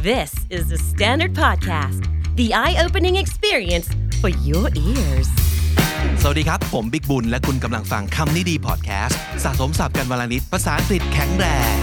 This is the Standard Podcast, the eye-opening experience for your ears. สวัสดีครับผมบิ๊กบุญและคุณกำลังฟังคำนี้ดีพอดแคสต์สะสมศัพท์กันวลนิดภาษาอังกฤษแข็งแรง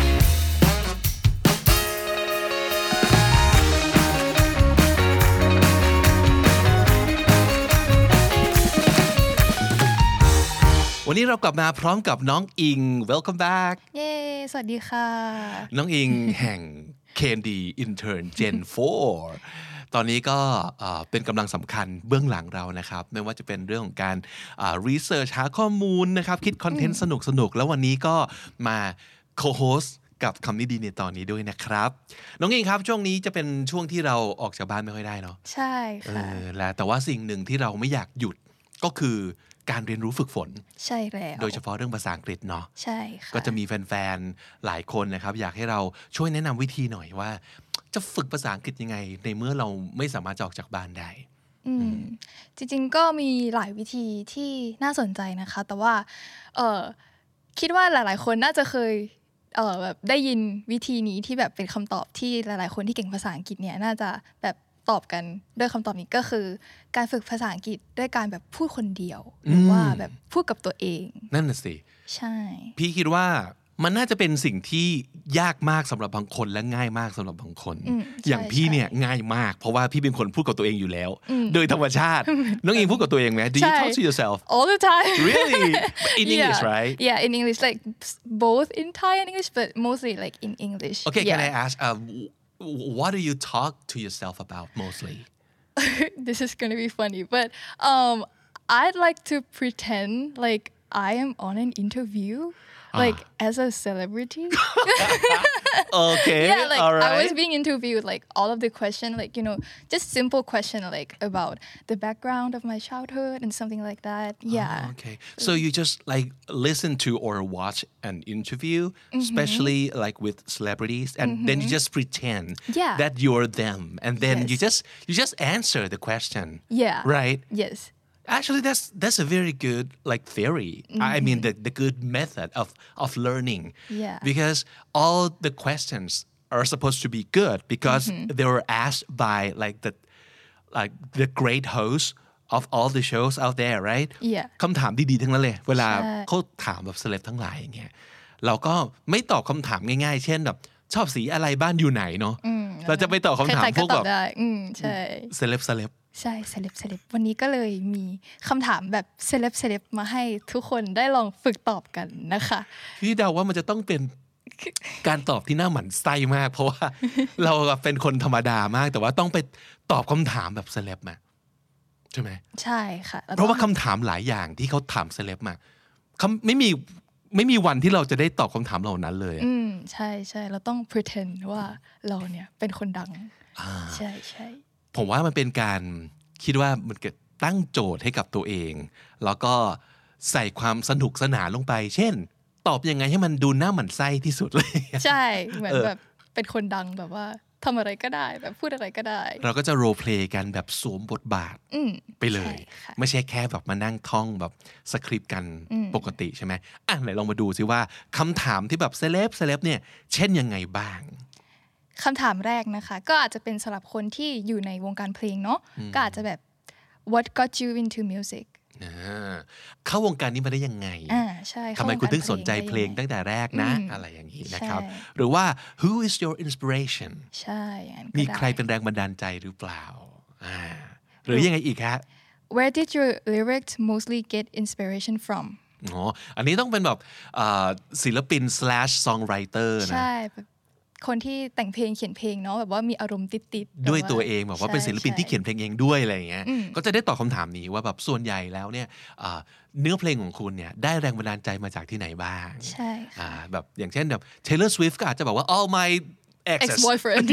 วันนี้เรากลับมาพร้อมกับน้องอิง Welcome back เย้สวัสดีค่ะน้องอิงแห่ง KND Intern Gen 4 ตอนนี้ก็เป็นกำลังสำคัญเบื้องหลังเรานะครับไม่ว่าจะเป็นเรื่องของการresearch หาข้อมูลนะครับคิดคอนเทนต์สนุกๆแล้ววันนี้ก็มา co-host กับคำนี้ดีในตอนนี้ด้วยนะครับน้องอิงครับช่วงนี้จะเป็นช่วงที่เราออกจากบ้านไม่ค่อยได้เนาะใช่ค่ะแต่ว่าสิ่งหนึ่งที่เราไม่อยากหยุดก็คือการเรียนรู้ฝึกฝนใช่แล้วโดยเฉพาะเรื่องภาษาอังกฤษเนาะใช่ค่ะก็จะมีแฟนๆหลายคนนะครับอยากให้เราช่วยแนะนำวิธีหน่อยว่าจะฝึกภาษาอังกฤษยังไงในเมื่อเราไม่สามารถจะออกจากบ้านได้จริงๆก็มีหลายวิธีที่น่าสนใจนะคะแต่ว่าคิดว่าหลายๆคนน่าจะเคยแบบได้ยินวิธีนี้ที่แบบเป็นคำตอบที่หลายๆคนที่เก่งภาษาอังกฤษเนี่ยน่าจะแบบตอบกันด้วยคำตอบนี้ก็คือการฝึกภาษาอังกฤษด้วยการแบบพูดคนเดียวหรือว่าแบบพูดกับตัวเองนั่นน่ะสิใช่พี่คิดว่ามันน่าจะเป็นสิ่งที่ยากมากสำหรับบางคนและง่ายมากสำหรับบางคนอย่างพี่เนี่ยง่ายมมากเพราะว่าพี่เป็นคนพูดกับตัวเองอยู่แล้วโดยธรรมชาติน้องอิงพูดกับตัวเองไหม Do you talk to yourself all the time really in English right yeah in English like both in Thai and English but mostly like in English okay can I ask what do you talk to yourself about mostly this is gonna be funny but I'd like to pretend like I am on an interview like as a celebrity okay yeah like all right. I was being interviewed like all of the question like you know just simple question like about the background of my childhood and something like that yeah okay so you just like listen to or watch an interview especially like with celebrities and then you just pretend that you're them and then you just answer the question yeah right yes Actually, that's a very good like theory. I mean the good method of learning. Yeah. Because all the questions are supposed to be good because they were asked by like the great hosts of all the shows out there, right? Yeah. คำถามดีๆทั้งนั้นเลยเวลาเขาถามแบบเซเลบทั้งหลายอย่างเงี้ยเราก็ไม่ตอบคำถามง่ายๆเช่นแบบชอบสีอะไรบ้านอยู่ไหนเนาะเราจะไปตอบคำถามพวกแบบใช่เซเลบใช่เซเลบวันนี้ก็เลยมีคำถามแบบเซเลบมาให้ทุกคนได้ลองฝึกตอบกันนะคะพี่เดาว่ามันจะต้องเป็นการตอบที่น่าหมั่นไส้มากเพราะว่าเราเป็นคนธรรมดามากแต่ว่าต้องไปตอบคำถามแบบเซเลบมาใช่ไหมใช่ค่ะเพราะว่าคำถามหลายอย่างที่เขาถามเซเลบมาไม่มีวันที่เราจะได้ตอบคำถามเหล่านั้นเลยใช่ใช่เราต้อง pretend ว่าเราเนี่ยเป็นคนดังใช่ใช่ผมว่ามันเป็นการคิดว่ามันเกิดตั้งโจทย์ให้กับตัวเองแล้วก็ใส่ความสนุกสนานลงไปเช่นตอบยังไงให้มันดูน่าหมั่นไส้ที่สุดเลยใช่เหมือนแบบเป็นคนดังแบบว่าทำอะไรก็ได้แบบพูดอะไรก็ได้เราก็จะโรลเพลย์กันแบบสวมบทบาทไปเลยไม่ใช่แค่แบบมานั่งท่องแบบสคริปต์กันปกติใช่ไหมไหนลองมาดูซิว่าคำถามที่แบบเซเลบเนี่ยเช่นยังไงบ้างคำถามแรกนะคะก็อาจจะเป็นสำหรับคนที่อยู่ในวงการเพลงเนาะก็อาจจะแบบ What got you into music เข้าวงการนี้มาได้ยังไงใช่ทำไมคุณถึงสนใจเพลงตั้งแต่แรกนะอะไรอย่างนี้นะครับหรือว่า Who is your inspiration ใช่มีใครเป็นแรงบันดาลใจหรือเปล่าหรือยังไงอีกฮะ Where did your lyrics mostly get inspiration from อันนี้ต้องเป็นแบบศิลปิน /songwriter นะใช่คนที่แต่งเพลงเขียนเพลงเนาะแบบว่ามีอารมณ์ติดๆด้วยตัวเองแบบว่าเป็นศิลปินที่เขียนเพลงเองด้วยอะไรอย่างเงี้ยก็จะได้ตอบคำถามนี้ว่าแบบส่วนใหญ่แล้วเนี่ยเนื้อเพลงของคุณเนี่ยได้แรงบันดาลใจมาจากที่ไหนบ้างใช่แบบอย่างเช่นแบบ Taylor Swift ก็อาจจะบอกว่า all my ex-boyfriend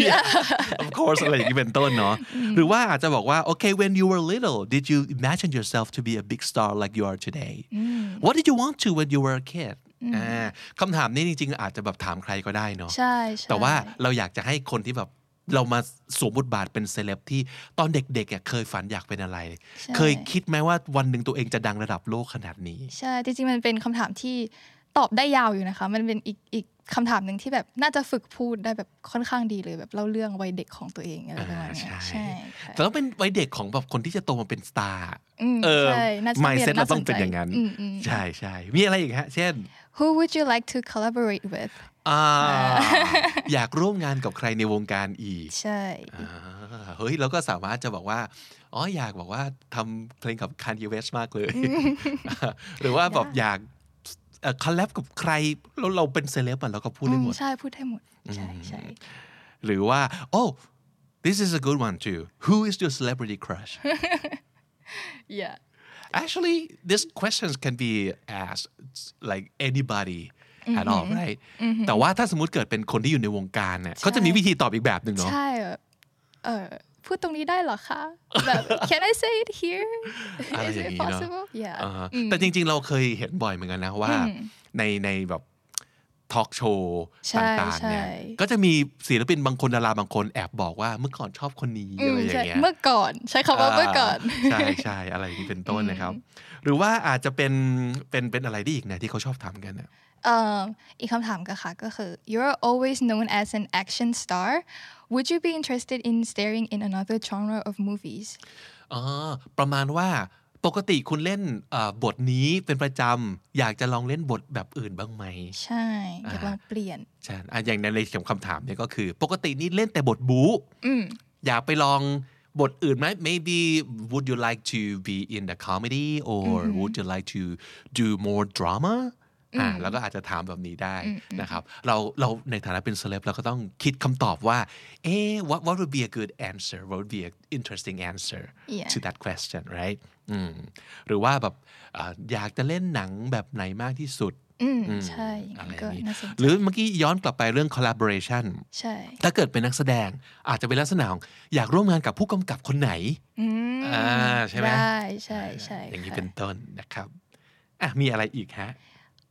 of course อะไรอย่างนี้เป็นต้นเนาะหรือว่าอาจจะบอกว่า okay when you were little did you imagine yourself to be a big star like you are today what did you want to when you were a kidคำถามนี้จริงๆอาจจะแบบถามใครก็ได้เนาะใช่แต่ว่าเราอยากจะให้คนที่แบบเรามาสวมบทบาทเป็นเซเลบที่ตอนเด็กๆเคยฝันอยากเป็นอะไรเคยคิดไหมว่าวันหนึ่งตัวเองจะดังระดับโลกขนาดนี้ใช่จริงๆมันเป็นคำถามที่ตอบได้ยาวอยู่นะคะมันเป็นอีกคำถามหนึ่งที่แบบน่าจะฝึกพูดได้แบบค่อนข้างดีเลยแบบเล่าเรื่องวัยเด็กของตัวเองอะไรประมาณนี้ใช่แต่ต้องเป็นวัยเด็กของแบบคนที่จะโตมาเป็นสตาร์ใช่น่าจะ mindset เราต้องเป็นอย่างนั้นใช่ใช่มีอะไรอีกฮะเช่น Who would you like to collaborate with อยากร่วมงานกับใครในวงการอีกใช่เฮ้ยเราก็สามารถจะบอกว่าอยากบอกว่าทำเพลงกับ Kanye West มากเลยหรือว่าแบบอยากคอลแลบกับใครเราเป็นเซเลบเราก็พูดได้หมดใช่พูดได้หมดใช่ใช่หรือว่าthis is a good one too who is your celebrity crush yeah actually these questions can be asked like anybody at all right แต่ว่าถ้าสมมุติเกิดเป็นคนที่อยู่ในวงการเนี่ยเขาจะมีวิธีตอบอีกแบบหนึ่งเนาะใช่พูดตรงนี้ได้เหรอคะแบบ can I say it here is it possible yeah แต่จริงๆเราเคยเห็นบ่อยเหมือนกันนะว่าในแบบทอล์กโชว์ต่างๆเนี่ยก็จะมีศิลปินบางคนดาราบางคนแอบบอกว่าเมื่อก่อนชอบคนนี้อะไรอย่างเงี้ยเมื่อก่อนใช้คำว่าเมื่อก่อนใช่อะไรนี้เป็นต้นนะครับหรือว่าอาจจะเป็นอะไรได้อีกนะที่เขาชอบทำกันนะอีกคำถามก็คือ you're always known as an action star would you be interested in starring in another genre of movies ประมาณว่าปกติคุณเล่นบทนี้เป็นประจำอยากจะลองเล่นบทแบบอื่นบ้างไหมใช่อยากลองเปลี่ยนใช่อย่างในคำถามเนี่ยก็คือปกตินี่เล่นแต่บทบู๊อยากไปลองบทอื่นไหม maybe would you like to be in the comedy or would you like to do more dramaแล้วก็อาจจะถามแบบนี้ได้นะครับเราในฐานะเป็นเซเลบเราก็ต้องคิดคำตอบว่าwhat would be a good answer what would be an interesting answer to that question right หรือว่าแบบอยากจะเล่นหนังแบบไหนมากที่สุดใช่อะไรนี้หรือเมื่อกี้ย้อนกลับไปเรื่อง collaboration ใช่ถ้าเกิดเป็นนักแสดงอาจจะเป็นลักษณะของอยากร่วมงานกับผู้กำกับคนไหนใช่ไหมใช่ใช่อย่างนี้เป็นต้นนะครับมีอะไรอีกฮะ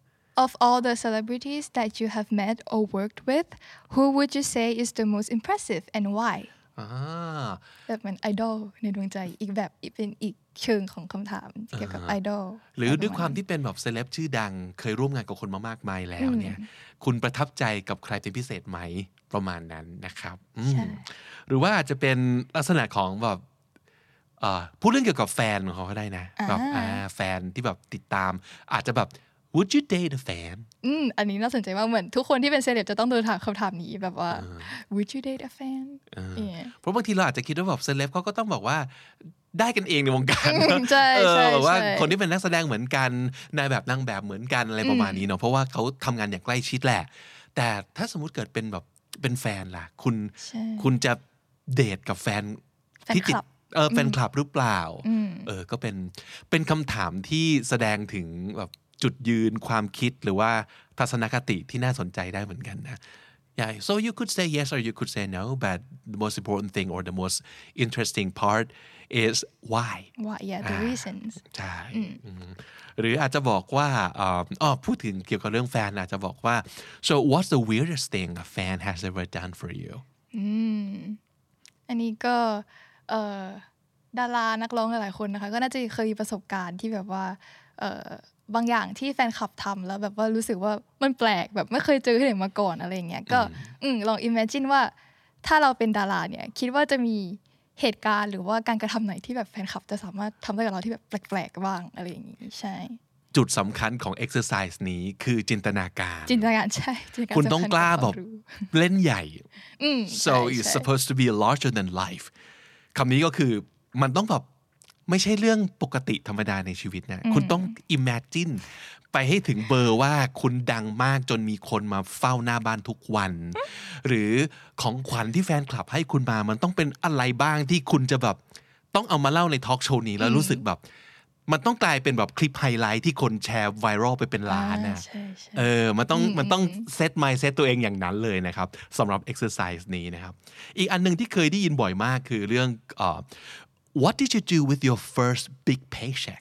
Of all the celebrities that you have met or worked with, who would you say is the most impressive and why? แบบเหมือนไอดอลในดวงใจอีกแบบเป็นอีกเชิงของคำถามเกี่ยวกับไอดอลหรือด้วยความที่เป็นแบบเซเลบชื่อดังเคยร่วมงานกับคนมามากมายแล้วเนี่ยคุณประทับใจกับใครเป็นพิเศษไหมประมาณนั้นนะครับหรือว่าอาจจะเป็นลักษณะของแบบพูดเรื่องเกี่ยวกับแฟนของเขาก็ได้นะแบบแฟนที่แบบติดตามอาจจะแบบ Would you date a fan อันนี้น่าสนใจมากเหมือนทุกคนที่เป็นเซเลบจะต้องโดนถามคำถามนี้แบบว่า Would you date a fan เพราะบางทีเราอาจจะคิดว่าแบบเซเลบเขาก็ต้องบอกว่าได้กันเองในวงการใช่แบบว่าคนที่เป็นนักแสดงเหมือนกันนายแบบนางแบบเหมือนกันอะไรประมาณนี้เนาะเพราะว่าเขาทำงานอย่างใกล้ชิดแหละแต่ถ้าสมมุติเกิดเป็นแบบเป็นแฟนล่ะคุณจะเดทกับแฟนที่ติดแฟนคลับหรือเปล่าก็เป็นคำถามที่แสดงถึงแบบจุดยืนความคิดหรือว่าทัศนคติที่น่าสนใจได้เหมือนกันนะ Yeah, so you could say yes or you could say no, but the most important thing or the most interesting part is why. Why, yeah, the reasons. ใช่หรืออาจจะบอกว่าพูดถึงเกี่ยวกับเรื่องแฟนอาจจะบอกว่า so what's the weirdest thing a fan has ever done for you? อันนี้ก็ดารานักร้องหลายๆคนนะคะก็น่าจะเคยมีประสบการณ์ที่แบบว่าบางอย่างที่แฟนคลับทำแล้วแบบว่ารู้สึกว่ามันแปลกแบบไม่เคยเจอที่ไหนมาก่อนอะไรอย่างเงี้ยก็ลอง imagine ว่าถ้าเราเป็นดาราเนี่ยคิดว่าจะมีเหตุการณ์หรือว่าการกระทำไหนที่แบบแฟนคลับจะสามารถทำได้กับเราที่แบบแปลกๆบ้างอะไรอย่างงี้ใช่จุดสำคัญของ exercise นี้คือจินตนาการใช่คุณต้องกล้าแบบเล่นใหญ่ so it's supposed to be larger than life คำนี้ก็คือมันต้องแบบไม่ใช่เรื่องปกติธรรมดาในชีวิตนะคุณต้อง imagine ไปให้ถึงเบอร์ว่าคุณดังมากจนมีคนมาเฝ้าหน้าบ้านทุกวันหรือของขวัญที่แฟนคลับให้คุณมามันต้องเป็นอะไรบ้างที่คุณจะแบบต้องเอามาเล่าในทอล์กโชว์นี้แล้วรู้สึกแบบมันต้องกลายเป็นแบบคลิปไฮไลท์ที่คนแชร์ไวรัลไปเป็นล้านนะมันต้องเซต mindset ตัวเองอย่างนั้นเลยนะครับสำหรับ exercise นี้นะครับอีกอันนึงที่เคยได้ยินบ่อยมากคือเรื่องWhat did you do with your first big paycheck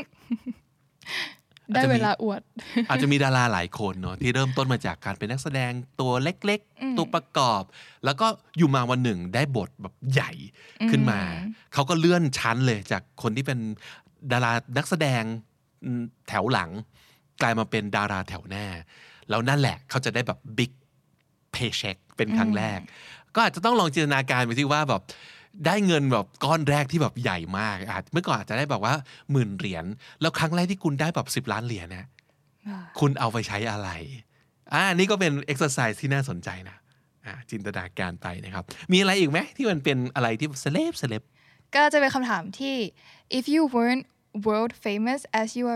ได้เวลาอวดอาจจะมีดาราหลายคนเนาะที่เริ่มต้นมาจากการเป็นนักแสดงตัวเล็กๆตัวประกอบแล้วก็อยู่มาวันหนึ่งได้บทแบบใหญ่ขึ้นมาเขาก็เลื่อนชั้นเลยจากคนที่เป็นดารานักแสดงแถวหลังกลายมาเป็นดาราแถวหน้าแล้วนั่นแหละเขาจะได้แบบ big paycheck เป็นครั้งแรกก็อาจจะต้องลองจินตนาการไปที่ว่าแบบได้เงินแบบก้อนแรกที่แบบใหญ่มากเมื่อก่อนอาจจะได้แบบว่า10,000 เหรียญแล้วครั้งแรกที่คุณได้แบบ10 ล้านเหรียญนะคุณเอาไปใช้อะไรนี่ก็เป็น exercise ที่น่าสนใจนะจินตนาการไปนะครับมีอะไรอีกไหมที่มันเป็นอะไรที่เซเลบก็จะเป็นคำถามที่ if you weren't world famous as you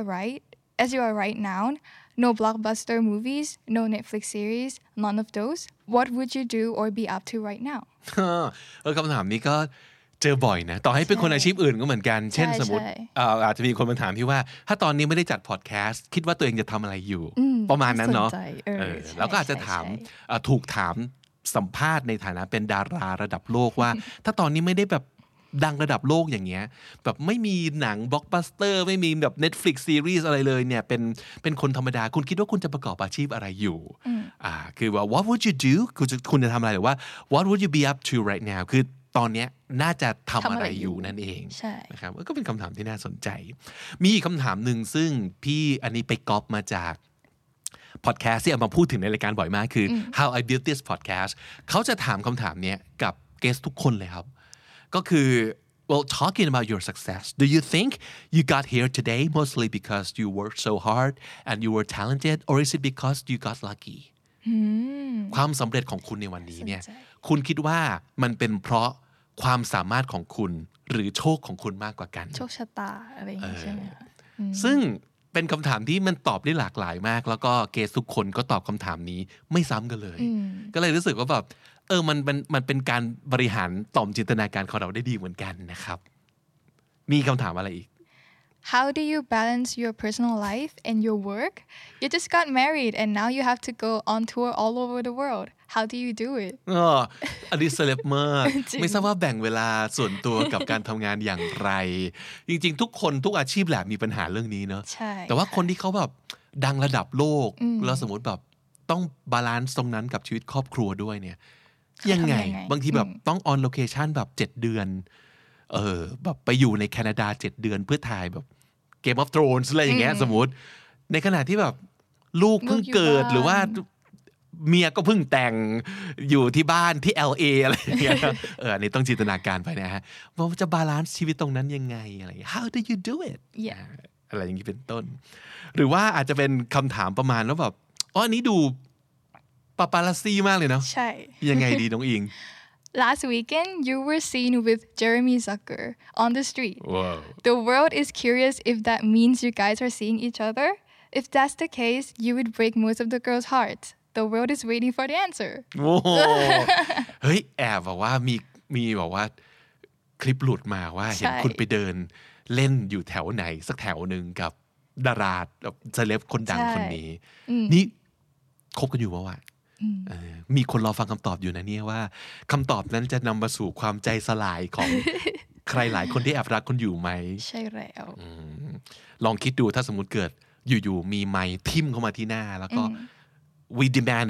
are right now no blockbuster movies no Netflix series none of those what would you do or be up to right now คำถามนี้ก็เจอบ่อยนะต่อให้เป็นคนอาชีพอื่นก็เหมือนกันเช่นสมมติอาจจะมีคนมาถามพี่ว่าถ้าตอนนี้ไม่ได้จัดพอดแคสต์คิดว่าตัวเองจะทำอะไรอยู่ประมาณนั้นเนาะแล้วก็อาจจะถามถูกถามสัมภาษณ์ในฐานะเป็นดาราระดับโลกว่าถ้าตอนนี้ไม่ได้แบบดังระดับโลกอย่างเงี้ยแบบไม่มีหนังบล็อกบัสเตอร์ไม่มีแบบ Netflix series อะไรเลยเนี่ยเป็นคนธรรมดาคุณคิดว่าคุณจะประกอบอาชีพอะไรอยู่คือว่า what would you do คุณจะทำอะไรหรือว่า what would you be up to right now คือตอนเนี้ยน่าจะทำอะไรอยู่นั่นเองนะครับก็เป็นคำถามที่น่าสนใจมีอีกคำถามหนึ่งซึ่งพี่อันนี้ไปก๊อปมาจากพอดแคสต์ที่เอามาพูดถึงในรายการบ่อยมากคือ How I Built This Podcast เขาจะถามคำถามนี้กับเกสทุกคนเลยครับก็คือ well talking about your success do you think you got here today mostly because you worked so hard and you were talented or is it because you got lucky ความสำเร็จของคุณในวันนี้เนี่ยคุณคิดว่ามันเป็นเพราะความสามารถของคุณหรือโชคของคุณมากกว่ากันโชคชะตาอะไรอย่างนี้ใช่ไหมซึ่งเป็นคำถามที่มันตอบได้หลากหลายมากแล้วก็เกสทุกคนก็ตอบคำถามนี้ไม่ซ้ำกันเลยก็เลยรู้สึกว่าแบบมันเป็นการบริหารต่อมจินตนาการของเราได้ดีเหมือนกันนะครับมีคำถามอะไรอีก How do you balance your personal life and your work? You just got married and now you have to go on tour all over the world. How do you do it? อันนี้เซเลบมากไม่ทราบว่าแบ่งเวลาส่วนตัวกับการทำงานอย่างไรจริงๆทุกคนทุกอาชีพแหละมีปัญหาเรื่องนี้เนอะแต่ว่าคนที่เขาแบบดังระดับโลกแล้วสมมติแบบต้องบาลานซ์ตรงนั้นกับชีวิตครอบครัวด้วยเนี่ยยังไงบางทีแบบต้องออนโลเคชั่นแบบ7 เดือนแบบไปอยู่ในแคนาดา7 เดือนเพื่อถ่ายแบบ Game of Thrones อะไรอย่างเงี้ยสมมติในขณะที่แบบลูกเพิ่งเกิดหรือว่าเมียก็เพิ่งแต่งอยู่ที่บ้านที่ LA อะไรอย่างเงี้ยอันนี้ต้องจินตนาการไปนะฮะว่าจะบาลานซ์ชีวิตตรงนั้นยังไงอะไร How do you do it อะไรอย่างนี้เป็นต้นหรือว่าอาจจะเป็นคำถามประมาณว่าแบบอันนี้ดูปาปาลัสซี่มากเลยเนาะใช่ยังไงดีน้องอิง Last weekend, you were seen with Jeremy Zucker on the street. Whoa. The world is curious if that means you guys are seeing each other. If that's the case, you would break most of the girls' hearts. The world is waiting for the answer. โอ้เฮ้ยแอบบอกว่ามีบอกว่าคลิปหลุดมาว่าเห็นคุณไปเดินเล่นอยู่แถวไหนสักแถวหนึ่งกับดาราเซเลบคนดังคนนี้นี่คบกันอยู่วะมีคนรอฟังคำตอบอยู่นะเนี่ยว่าคำตอบนั้นจะนำมาสู่ความใจสลายของ ใครหลายคนที่แอบรักคุณอยู่ไหมใช่แล้วลองคิดดูถ้าสมมุติเกิดอยู่ๆมีไมค์ทิ่มเข้ามาที่หน้าแล้วก็ we demand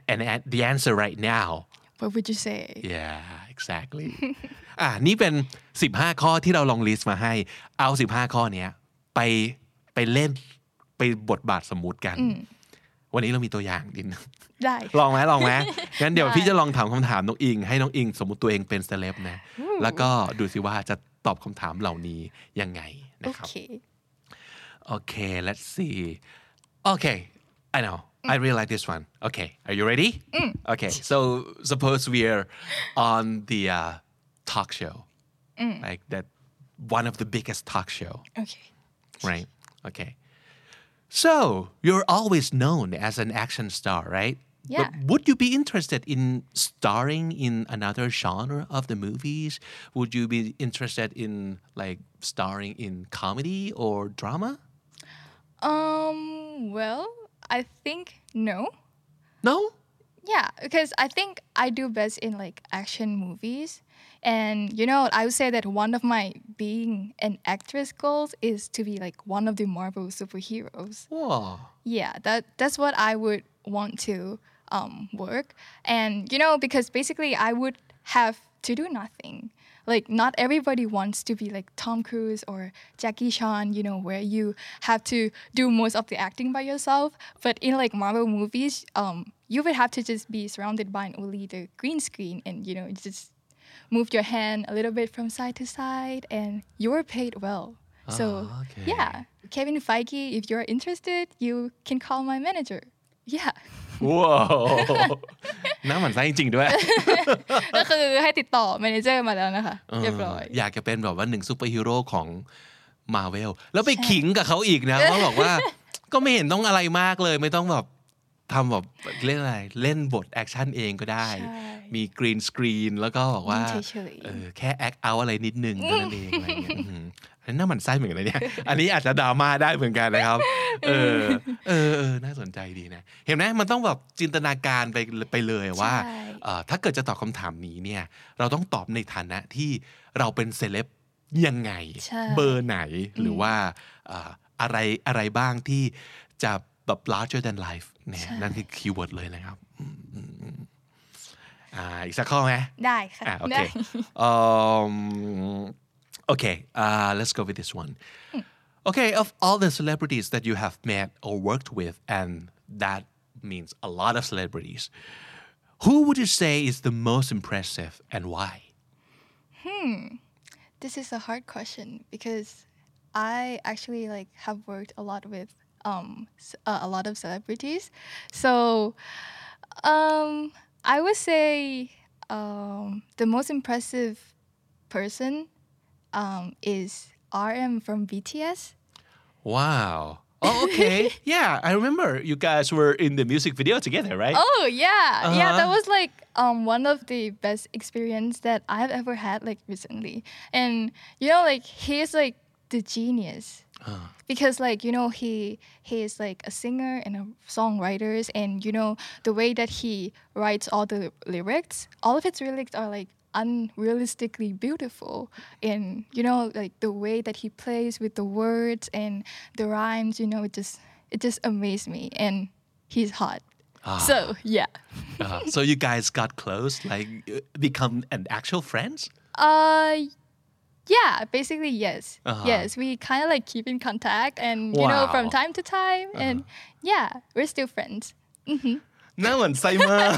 the answer right now What would you say Yeah exactly นี่เป็น15ข้อที่เราลองลิสต์มาให้เอา15ข้อเนี้ยไปเล่นไปบทบาทสมมุติกันวันนี้เรามีตัวอย่างดินได้ลองไหมงั้นเดี๋ยวพี่จะลองถามคำถามน้องอิงให้น้องอิงสมมุติตัวเองเป็นเซเลบนะแล้วก็ดูสิว่าจะตอบคำถามเหล่านี้ยังไงนะครับOkay let's see Okay I know I really like this one Okay are you ready Okay so suppose we're on the talk show like that one of the biggest talk show Okay right Okay So, you're always known as an action star, right? Yeah. But would you be interested in starring in another genre of the movies? Would you be interested in like starring in comedy or drama? Well, I think no. No? Yeah, because I think I do best in like action movies. And I would say that one of my being an actress goals is to be like one of the Marvel superheroes. Whoa. Yeah, that's what I would want to work. And because basically I would have to do nothing. like not everybody wants to be like Tom Cruise or Jackie Chan, you know, where you have to do most of the acting by yourself. But in like Marvel movies, you would have to just be surrounded by only the green screen and, you know, just move your hand a little bit from side to side and you're paid well. So okay. yeah, Kevin Feige, if you're interested, you can call my manager. Yeah. ว้าวน่าหมั่นไส้จริงๆด้วยก็คือให้ติดต่อแมเนเจอร์มาแล้วนะคะเรียบร้อยอยากจะเป็นแบบว่าหนึ่งซูเปอร์ฮีโร่ของ Marvel แล้วไปขิงกับเขาอีกนะเขาบอกว่าก็ไม่เห็นต้องอะไรมากเลยไม่ต้องแบบทำแบบเล่นอะไรเล่นบทแอคชั่นเองก็ได้มีกรีนสกรีนแล้วก็บอกว่าแค่แอคเอาอะไรนิดนึงเท่านั้นเองอะไรเงี้ยอันนี้น่าหมั่นไส้เหมือนกันนะเนี่ยอันนี้อาจจะดราม่าได้เหมือนกันนะครับน่าสนใจดีนะเห็นไหมมันต้องแบบจินตนาการไปเลยว่าถ้าเกิดจะตอบคำถามนี้เนี่ยเราต้องตอบในฐานะที่เราเป็นเซเลบยังไงเบอร์ไหนหรือว่าอะไรบ้างที่จะแบบ larger than life เนี่ยนั่นคือคีย์เวิร์ดเลยนะครับอีกสักข้อไหมได้ค่ะโอเคOkay, let's go with this one. Okay, of all the celebrities that you have met or worked with, and that means a lot of celebrities, who would you say is the most impressive and why? This is a hard question because I actually like have worked a lot with a lot of celebrities. So I would say the most impressive person is RM from BTS. Wow. Oh, okay. Yeah, I remember you guys were in the music video together, right? Oh, yeah. Yeah, that was like one of the best experience that I've ever had like recently. And you know, like he's like the genius. Because like, you know, he is like a singer and a songwriter, and you know, the way that he writes all the lyrics, all of his lyrics are like unrealistically beautiful, and you know, like the way that he plays with the words and the rhymes, you know, it just amazed me, and he's hot. So yeah. So you guys got close, like become an actual friends? Yeah, basically yes. Yes, we kind of like keep in contact, and you know, from time to time, and yeah, we're still friends. น่าหมั่นไส้มาก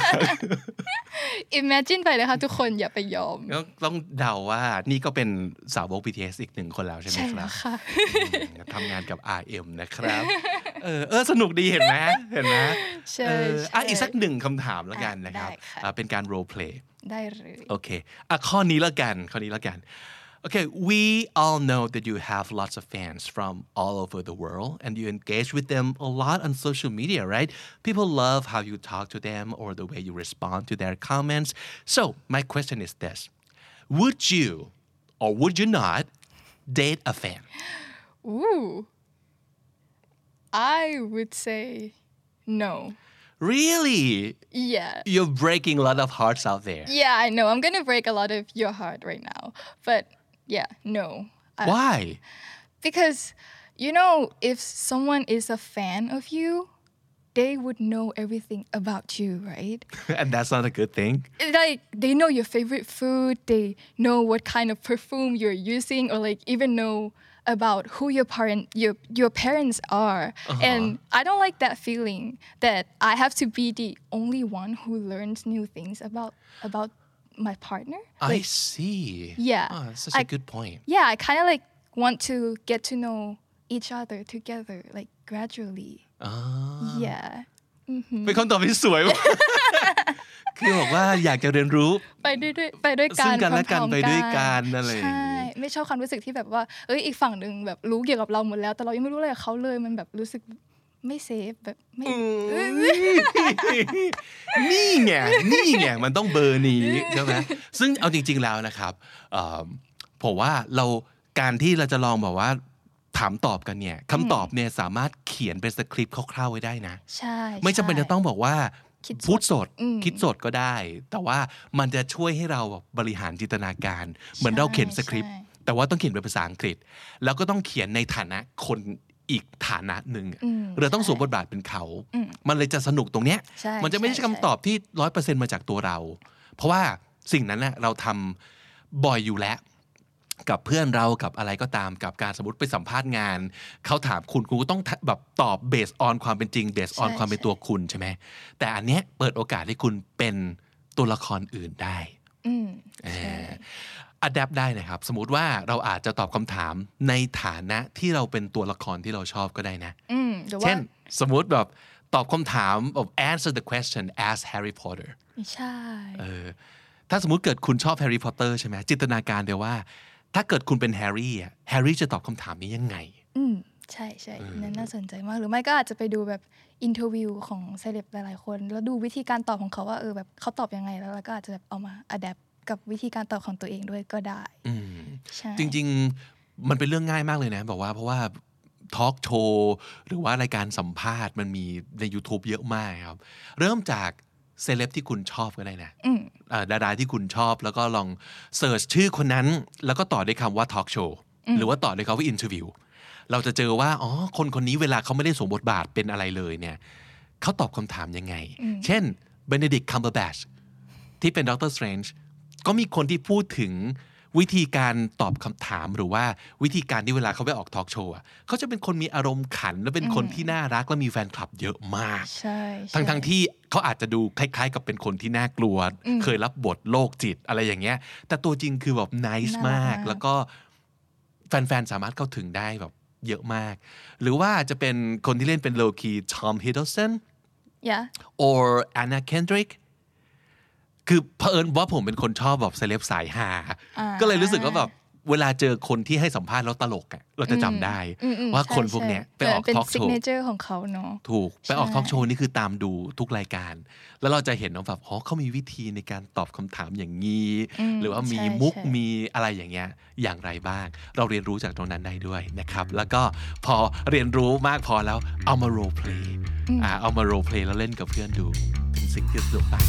Imagine ไปเลยค่ะทุกคนอย่าไปยอมต้องเดาว่านี่ก็เป็นสาวก BTS อีกหนึ่งคนแล้วใช่ไหมครับใช่แล้วค่ะทำงานกับ RM นะครับสนุกดีเห็นไหมใช่อีกสักหนึ่งคำถามแล้วกันนะครับเป็นการ role play ได้เลยโอเคข้อนี้แล้วกันOkay, we all know that you have lots of fans from all over the world and you engage with them a lot on social media, right? People love how you talk to them or the way you respond to their comments. So, my question is this. Would you or would you not date a fan? Ooh. I would say no. Really? Yeah. You're breaking a lot of hearts out there. Yeah, I know. I'm going to break a lot of your heart right now. But yeah, no. Why? Because, you know, if someone is a fan of you, they would know everything about you, right? And that's not a good thing? Like, they know your favorite food, they know what kind of perfume you're using, or like even know about who your parents are. And I don't like that feeling that I have to be the only one who learns new things about my partner. Like, I see. Yeah. That's such a good point. Yeah, I kind of like want to get to know each other together, like gradually. Yeah. เป็นคำตอบที่สวยมาก คือบอกว่าอยากจะเรียนรู้ไปด้วยกันซึ่งกันและกันไปด้วยกันอะไรอย่างงี้ใช่ไม่ชอบความรู้สึกที่แบบว่าอีกฝั่งนึงแบบรู้เกี่ยวกับเราหมดแล้วแต่เรายังไม่รู้อะไรกับเขาเลยมันแบบรู้สึกไม่เซฟแบบไม่นี่ไงมันต้องเบอร์นี้ใช่ไหมซึ่งเอาจริงๆแล้วนะครับผมว่าการที่เราจะลองแบบว่าถามตอบกันเนี่ยคำตอบเนี่ยสามารถเขียนเป็นสคริปต์คร่าวๆไว้ได้นะใช่ไม่จำเป็นจะต้องบอกว่าพูดสดคิดสดก็ได้แต่ว่ามันจะช่วยให้เราบริหารจินตนาการเหมือนเราเขียนสคริปต์แต่ว่าต้องเขียนเป็นภาษาอังกฤษแล้วก็ต้องเขียนในฐานะคนอีกฐานะหนึ่งเราต้องสวมบทบาทเป็นเขามันเลยจะสนุกตรงเนี้ยมันจะไม่ใช่คำตอบที่ 100% มาจากตัวเราเพราะว่าสิ่งนั้นน่ะเราทำบ่อยอยู่แล้วกับเพื่อนเรากับอะไรก็ตามกับการสมมติไปสัมภาษณ์งานเขาถามคุณก็ต้องแบบตอบ based on ความเป็นจริง based on ความเป็นตัวคุณใช่ไหมแต่อันเนี้ยเปิดโอกาสให้คุณเป็นตัวละครอื่นได้adapt ได้นะครับสมมุติว่าเราอาจจะตอบคำถามในฐานะที่เราเป็นตัวละครที่เราชอบก็ได้นะเช่นสมมุติแบบตอบคำถามแบบ answer the question as Harry Potter ใช่ถ้าสมมุติเกิดคุณชอบ Harry Potter ใช่ไหมจินตนาการเดี๋ยวว่าถ้าเกิดคุณเป็นแฮร์รี่อะแฮร์รี่จะตอบคำถามนี้ยังไงใช่ใช่นั่นน่าสนใจมากหรือไม่ก็อาจจะไปดูแบบอินเทอร์วิวของเซเลบหลายๆคนแล้วดูวิธีการตอบของเขาว่าแบบเขาตอบยังไงแล้วก็อาจจะแบบเอามาอะแดปกับวิธีการตอบของตัวเองด้วยก็ได้ใช่จริงๆมันเป็นเรื่องง่ายมากเลยนะบอกว่าเพราะว่าทอล์กโชว์หรือว่ารายการสัมภาษณ์มันมีใน YouTube เยอะมากครับเริ่มจากเซเลบที่คุณชอบก็ได้นะดาราที่คุณชอบแล้วก็ลองเสิร์ชชื่อคนนั้นแล้วก็ต่อด้วยคำว่าทอล์กโชว์หรือว่าต่อด้วยคำว่าอินเทอร์วิวเราจะเจอว่าคนนี้เวลาเขาไม่ได้สวมบทบาทเป็นอะไรเลยเนี่ยเขาตอบคำถามยังไงเช่น Benedict Cumberbatch ที่เป็นด็อกเตอร์สเตรนจ์ก็มีคนที่พูดถึงวิธีการตอบคำถามหรือว่าวิธีการที่เวลาเขาไปออกทอล์กโชว์เขาจะเป็นคนมีอารมณ์ขันและเป็นคนที่น่ารักและมีแฟนคลับเยอะมากทั้งที่เขาอาจจะดูคล้ายๆกับเป็นคนที่น่ากลัวเคยรับบทโรคจิตอะไรอย่างเงี้ยแต่ตัวจริงคือแบบ nice มากแล้วก็แฟนๆสามารถเข้าถึงได้แบบเยอะมากหรือว่าจะเป็นคนที่เล่นเป็นโลคี Tom Hiddleston or Anna Kendrick คือเผอิญว่าผมเป็นคนชอบแบบเซเลบสายฮาก็เลยรู้สึกว่าแบบเวลาเจอคนที่ให้สัมภาษณ์แล้วตลกเราจะจำได้ว่าคนพวกเนี้ยไปออกทอล์กโชว์เป็นซิกเนเจอร์ของเขาเนาะถูกไปออกทอล์กโชว์นี่คือตามดูทุกรายการแล้วเราจะเห็นว่าแบบเขามีวิธีในการตอบคำถามอย่างนี้หรือว่ามีมุกมีอะไรอย่างเงี้ยอย่างไรบ้างเราเรียนรู้จากตรงนั้นได้ด้วยนะครับแล้วก็พอเรียนรู้มากพอแล้วเอามาโรลเพลย์เอามาโรลเพลย์แล้วเล่นกับเพื่อนดูเป็นสิ่งที่สนุกมาก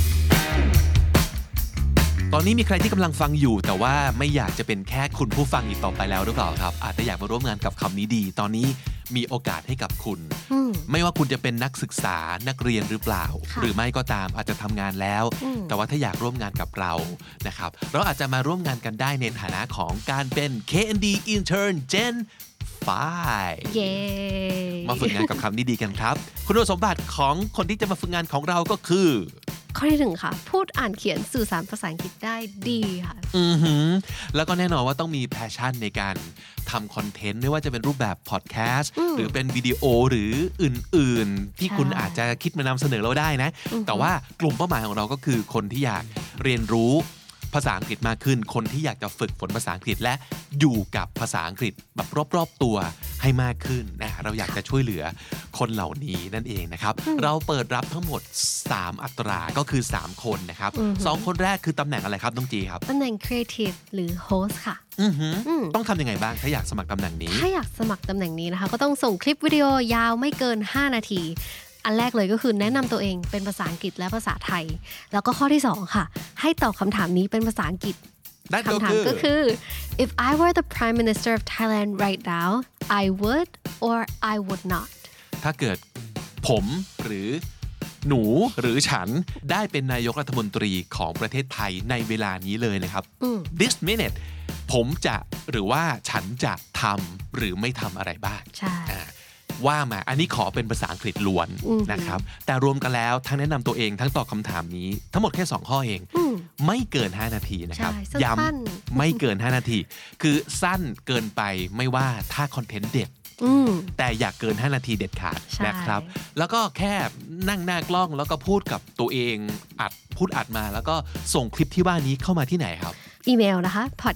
ตอนนี้มีใครที่กำลังฟังอยู่แต่ว่าไม่อยากจะเป็นแค่คุณผู้ฟังอีกต่อไปแล้วหรือเปล่าครับอาจจะอยากมาร่วมงานกับคำนี้ดีตอนนี้มีโอกาสให้กับคุณไม่ว่าคุณจะเป็นนักศึกษานักเรียนหรือเปล่าหรือไม่ก็ตามอาจจะทำงานแล้วแต่ว่าถ้าอยากร่วมงานกับเรานะครับเราอาจจะมาร่วมงานกันได้ในฐานะของการเป็น KND Intern Gen 5 เย้มาฝึกงานกับคำนี้ดีกันครับคุณสมบัติของคนที่จะมาฝึกงานของเราก็คือข้อที่ 1 ค่ะพูดอ่านเขียนสื่อสารภาษาอังกฤษได้ดีค่ะแล้วก็แน่นอนว่าต้องมีแพชชั่นในการทำคอนเทนต์ไม่ว่าจะเป็นรูปแบบพอดแคสต์หรือเป็นวิดีโอหรืออื่นๆที่คุณอาจจะคิดมานำเสนอเราได้นะแต่ว่ากลุ่มเป้าหมายของเราก็คือคนที่อยากเรียนรู้ภาษาอังกฤษมากขึ้นคนที่อยากจะฝึกฝนภาษาอังกฤษและอยู่กับภาษาอังกฤษแบบรอบๆตัวให้มากขึ้นนะเราอยากจะช่วยเหลือคนเหล่านี้นั่นเองนะครับเราเปิดรับทั้งหมด3อัตราก็คือ3คนนะครับ2คนแรกคือตำแหน่งอะไรครับน้องจีครับตำแหน่ง Creative หรือ Host ค่ะต้องทำยังไงบ้างถ้าอยากสมัครตำแหน่งนี้ถ้าอยากสมัครตำแหน่งนี้นะคะก็ต้องส่งคลิปวิดีโอยาวไม่เกิน5นาทีอันแรกเลยก็คือแนะนำตัวเองเป็นภาษาอังกฤษและภาษาไทยแล้วก็ข้อที่2ค่ะให้ตอบคำถามนี้เป็นภาษาอังกฤษคำถามก็คือ if I were the Prime Minister of Thailand right now I would or I would not ถ้าเกิดผมหรือหนูหรือฉันได้เป็นนายกรัฐมนตรีของประเทศไทยในเวลานี้เลยนะครับ this minute ผมจะหรือว่าฉันจะทำหรือไม่ทำอะไรบ้างใช่ว่ามาอันนี้ขอเป็นภาษาอังกฤษล้วนนะครับแต่รวมกันแล้วทั้งแนะนำตัวเองทั้งตอบคำถามนี้ทั้งหมดแค่2ข้อเองไม่เกิน5นาทีนะครับย้ำไม่เกิน5นาทีคือสั้นเกินไปไม่ว่าถ้าคอนเทนต์เด็ดแต่อยากเกิน5นาทีเด็ดขาดนะครับแล้วก็แค่นั่งหน้ากล้องแล้วก็พูดกับตัวเองอัดมาแล้วก็ส่งคลิปที่ว่านี้เข้ามาที่ไหนครับอีเมลนะคะ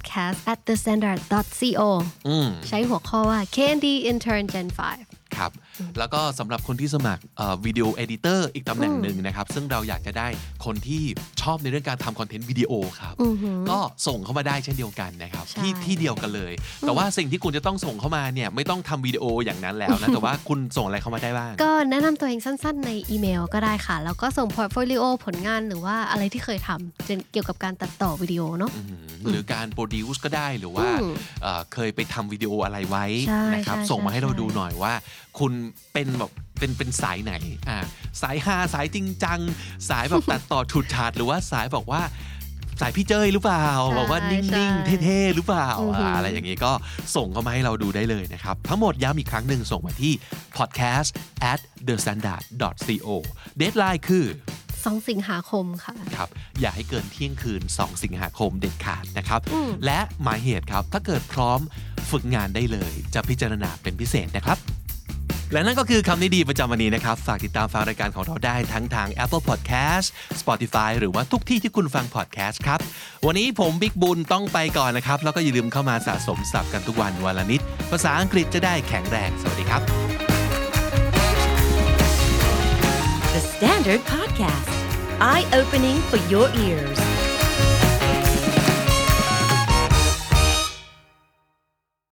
podcast@thestandard.co ใช้หัวข้อว่า KND Intern Gen 5 ครับแล้วก็สำหรับคนที่สมัครวิดีโอเอดิเตอร์อีกตำแหน่งหนึ่งนะครับซึ่งเราอยากจะได้คนที่ชอบในเรื่องการทำคอนเทนต์วิดีโอครับก็ส่งเข้ามาได้เช่นเดียวกันนะครับที่เดียวกันเลยแต่ว่าสิ่งที่คุณจะต้องส่งเข้ามาเนี่ยไม่ต้องทำวิดีโออย่างนั้นแล้วนะแต่ว่าคุณส่งอะไรเข้ามาได้บ้างก็แนะนำตัวเองสั้นๆในอีเมลก็ได้ค่ะแล้วก็ส่งพอร์ตโฟลิโอผลงานหรือว่าอะไรที่เคยทำเกี่ยวกับการตัดต่อวิดีโอเนาะหรือการโปรดิวซ์ก็ได้หรือว่าเคยไปทำวิดีโออะไรไว้นะครับส่งมาให้เราดูหน่อยว่าคุณเป็นแบบเป็นสายไหนสายฮาสายจริงจังสายแบบตัดต่อฉุดฉาดหรือว่าสายบอกว่าสายพี่เจ้ยหรือเปล่าบอกว่านิ่งๆเท่ๆหรือเปล่าอะไรอย่างนี้ก็ส่งเข้ามาให้เราดูได้เลยนะครับทั้งหมดย้ำอีกครั้งหนึ่งส่งมาที่ podcast@thestandard.co เดดไลน์คือ 2 สิงหาคมค่ะครับอย่าให้เกินเที่ยงคืน2 สิงหาคมเด็ดขาดนะครับและหมายเหตุครับถ้าเกิดพร้อมฝึกงานได้เลยจะพิจารณาเป็นพิเศษนะครับและนั่นก็คือคำนี้ดีประจำวันนี้นะครับฝากติดตามฟังรายการของเราได้ทั้งทาง Apple Podcast Spotify หรือว่าทุกที่ที่คุณฟัง podcast ครับวันนี้ผมบิ๊กบุญต้องไปก่อนนะครับแล้วก็อย่าลืมเข้ามาสะสมศัพท์กันทุกวันวันละนิดภาษาอังกฤษจะได้แข็งแรงสวัสดีครับ The Standard Podcast Eye Opening for Your Ears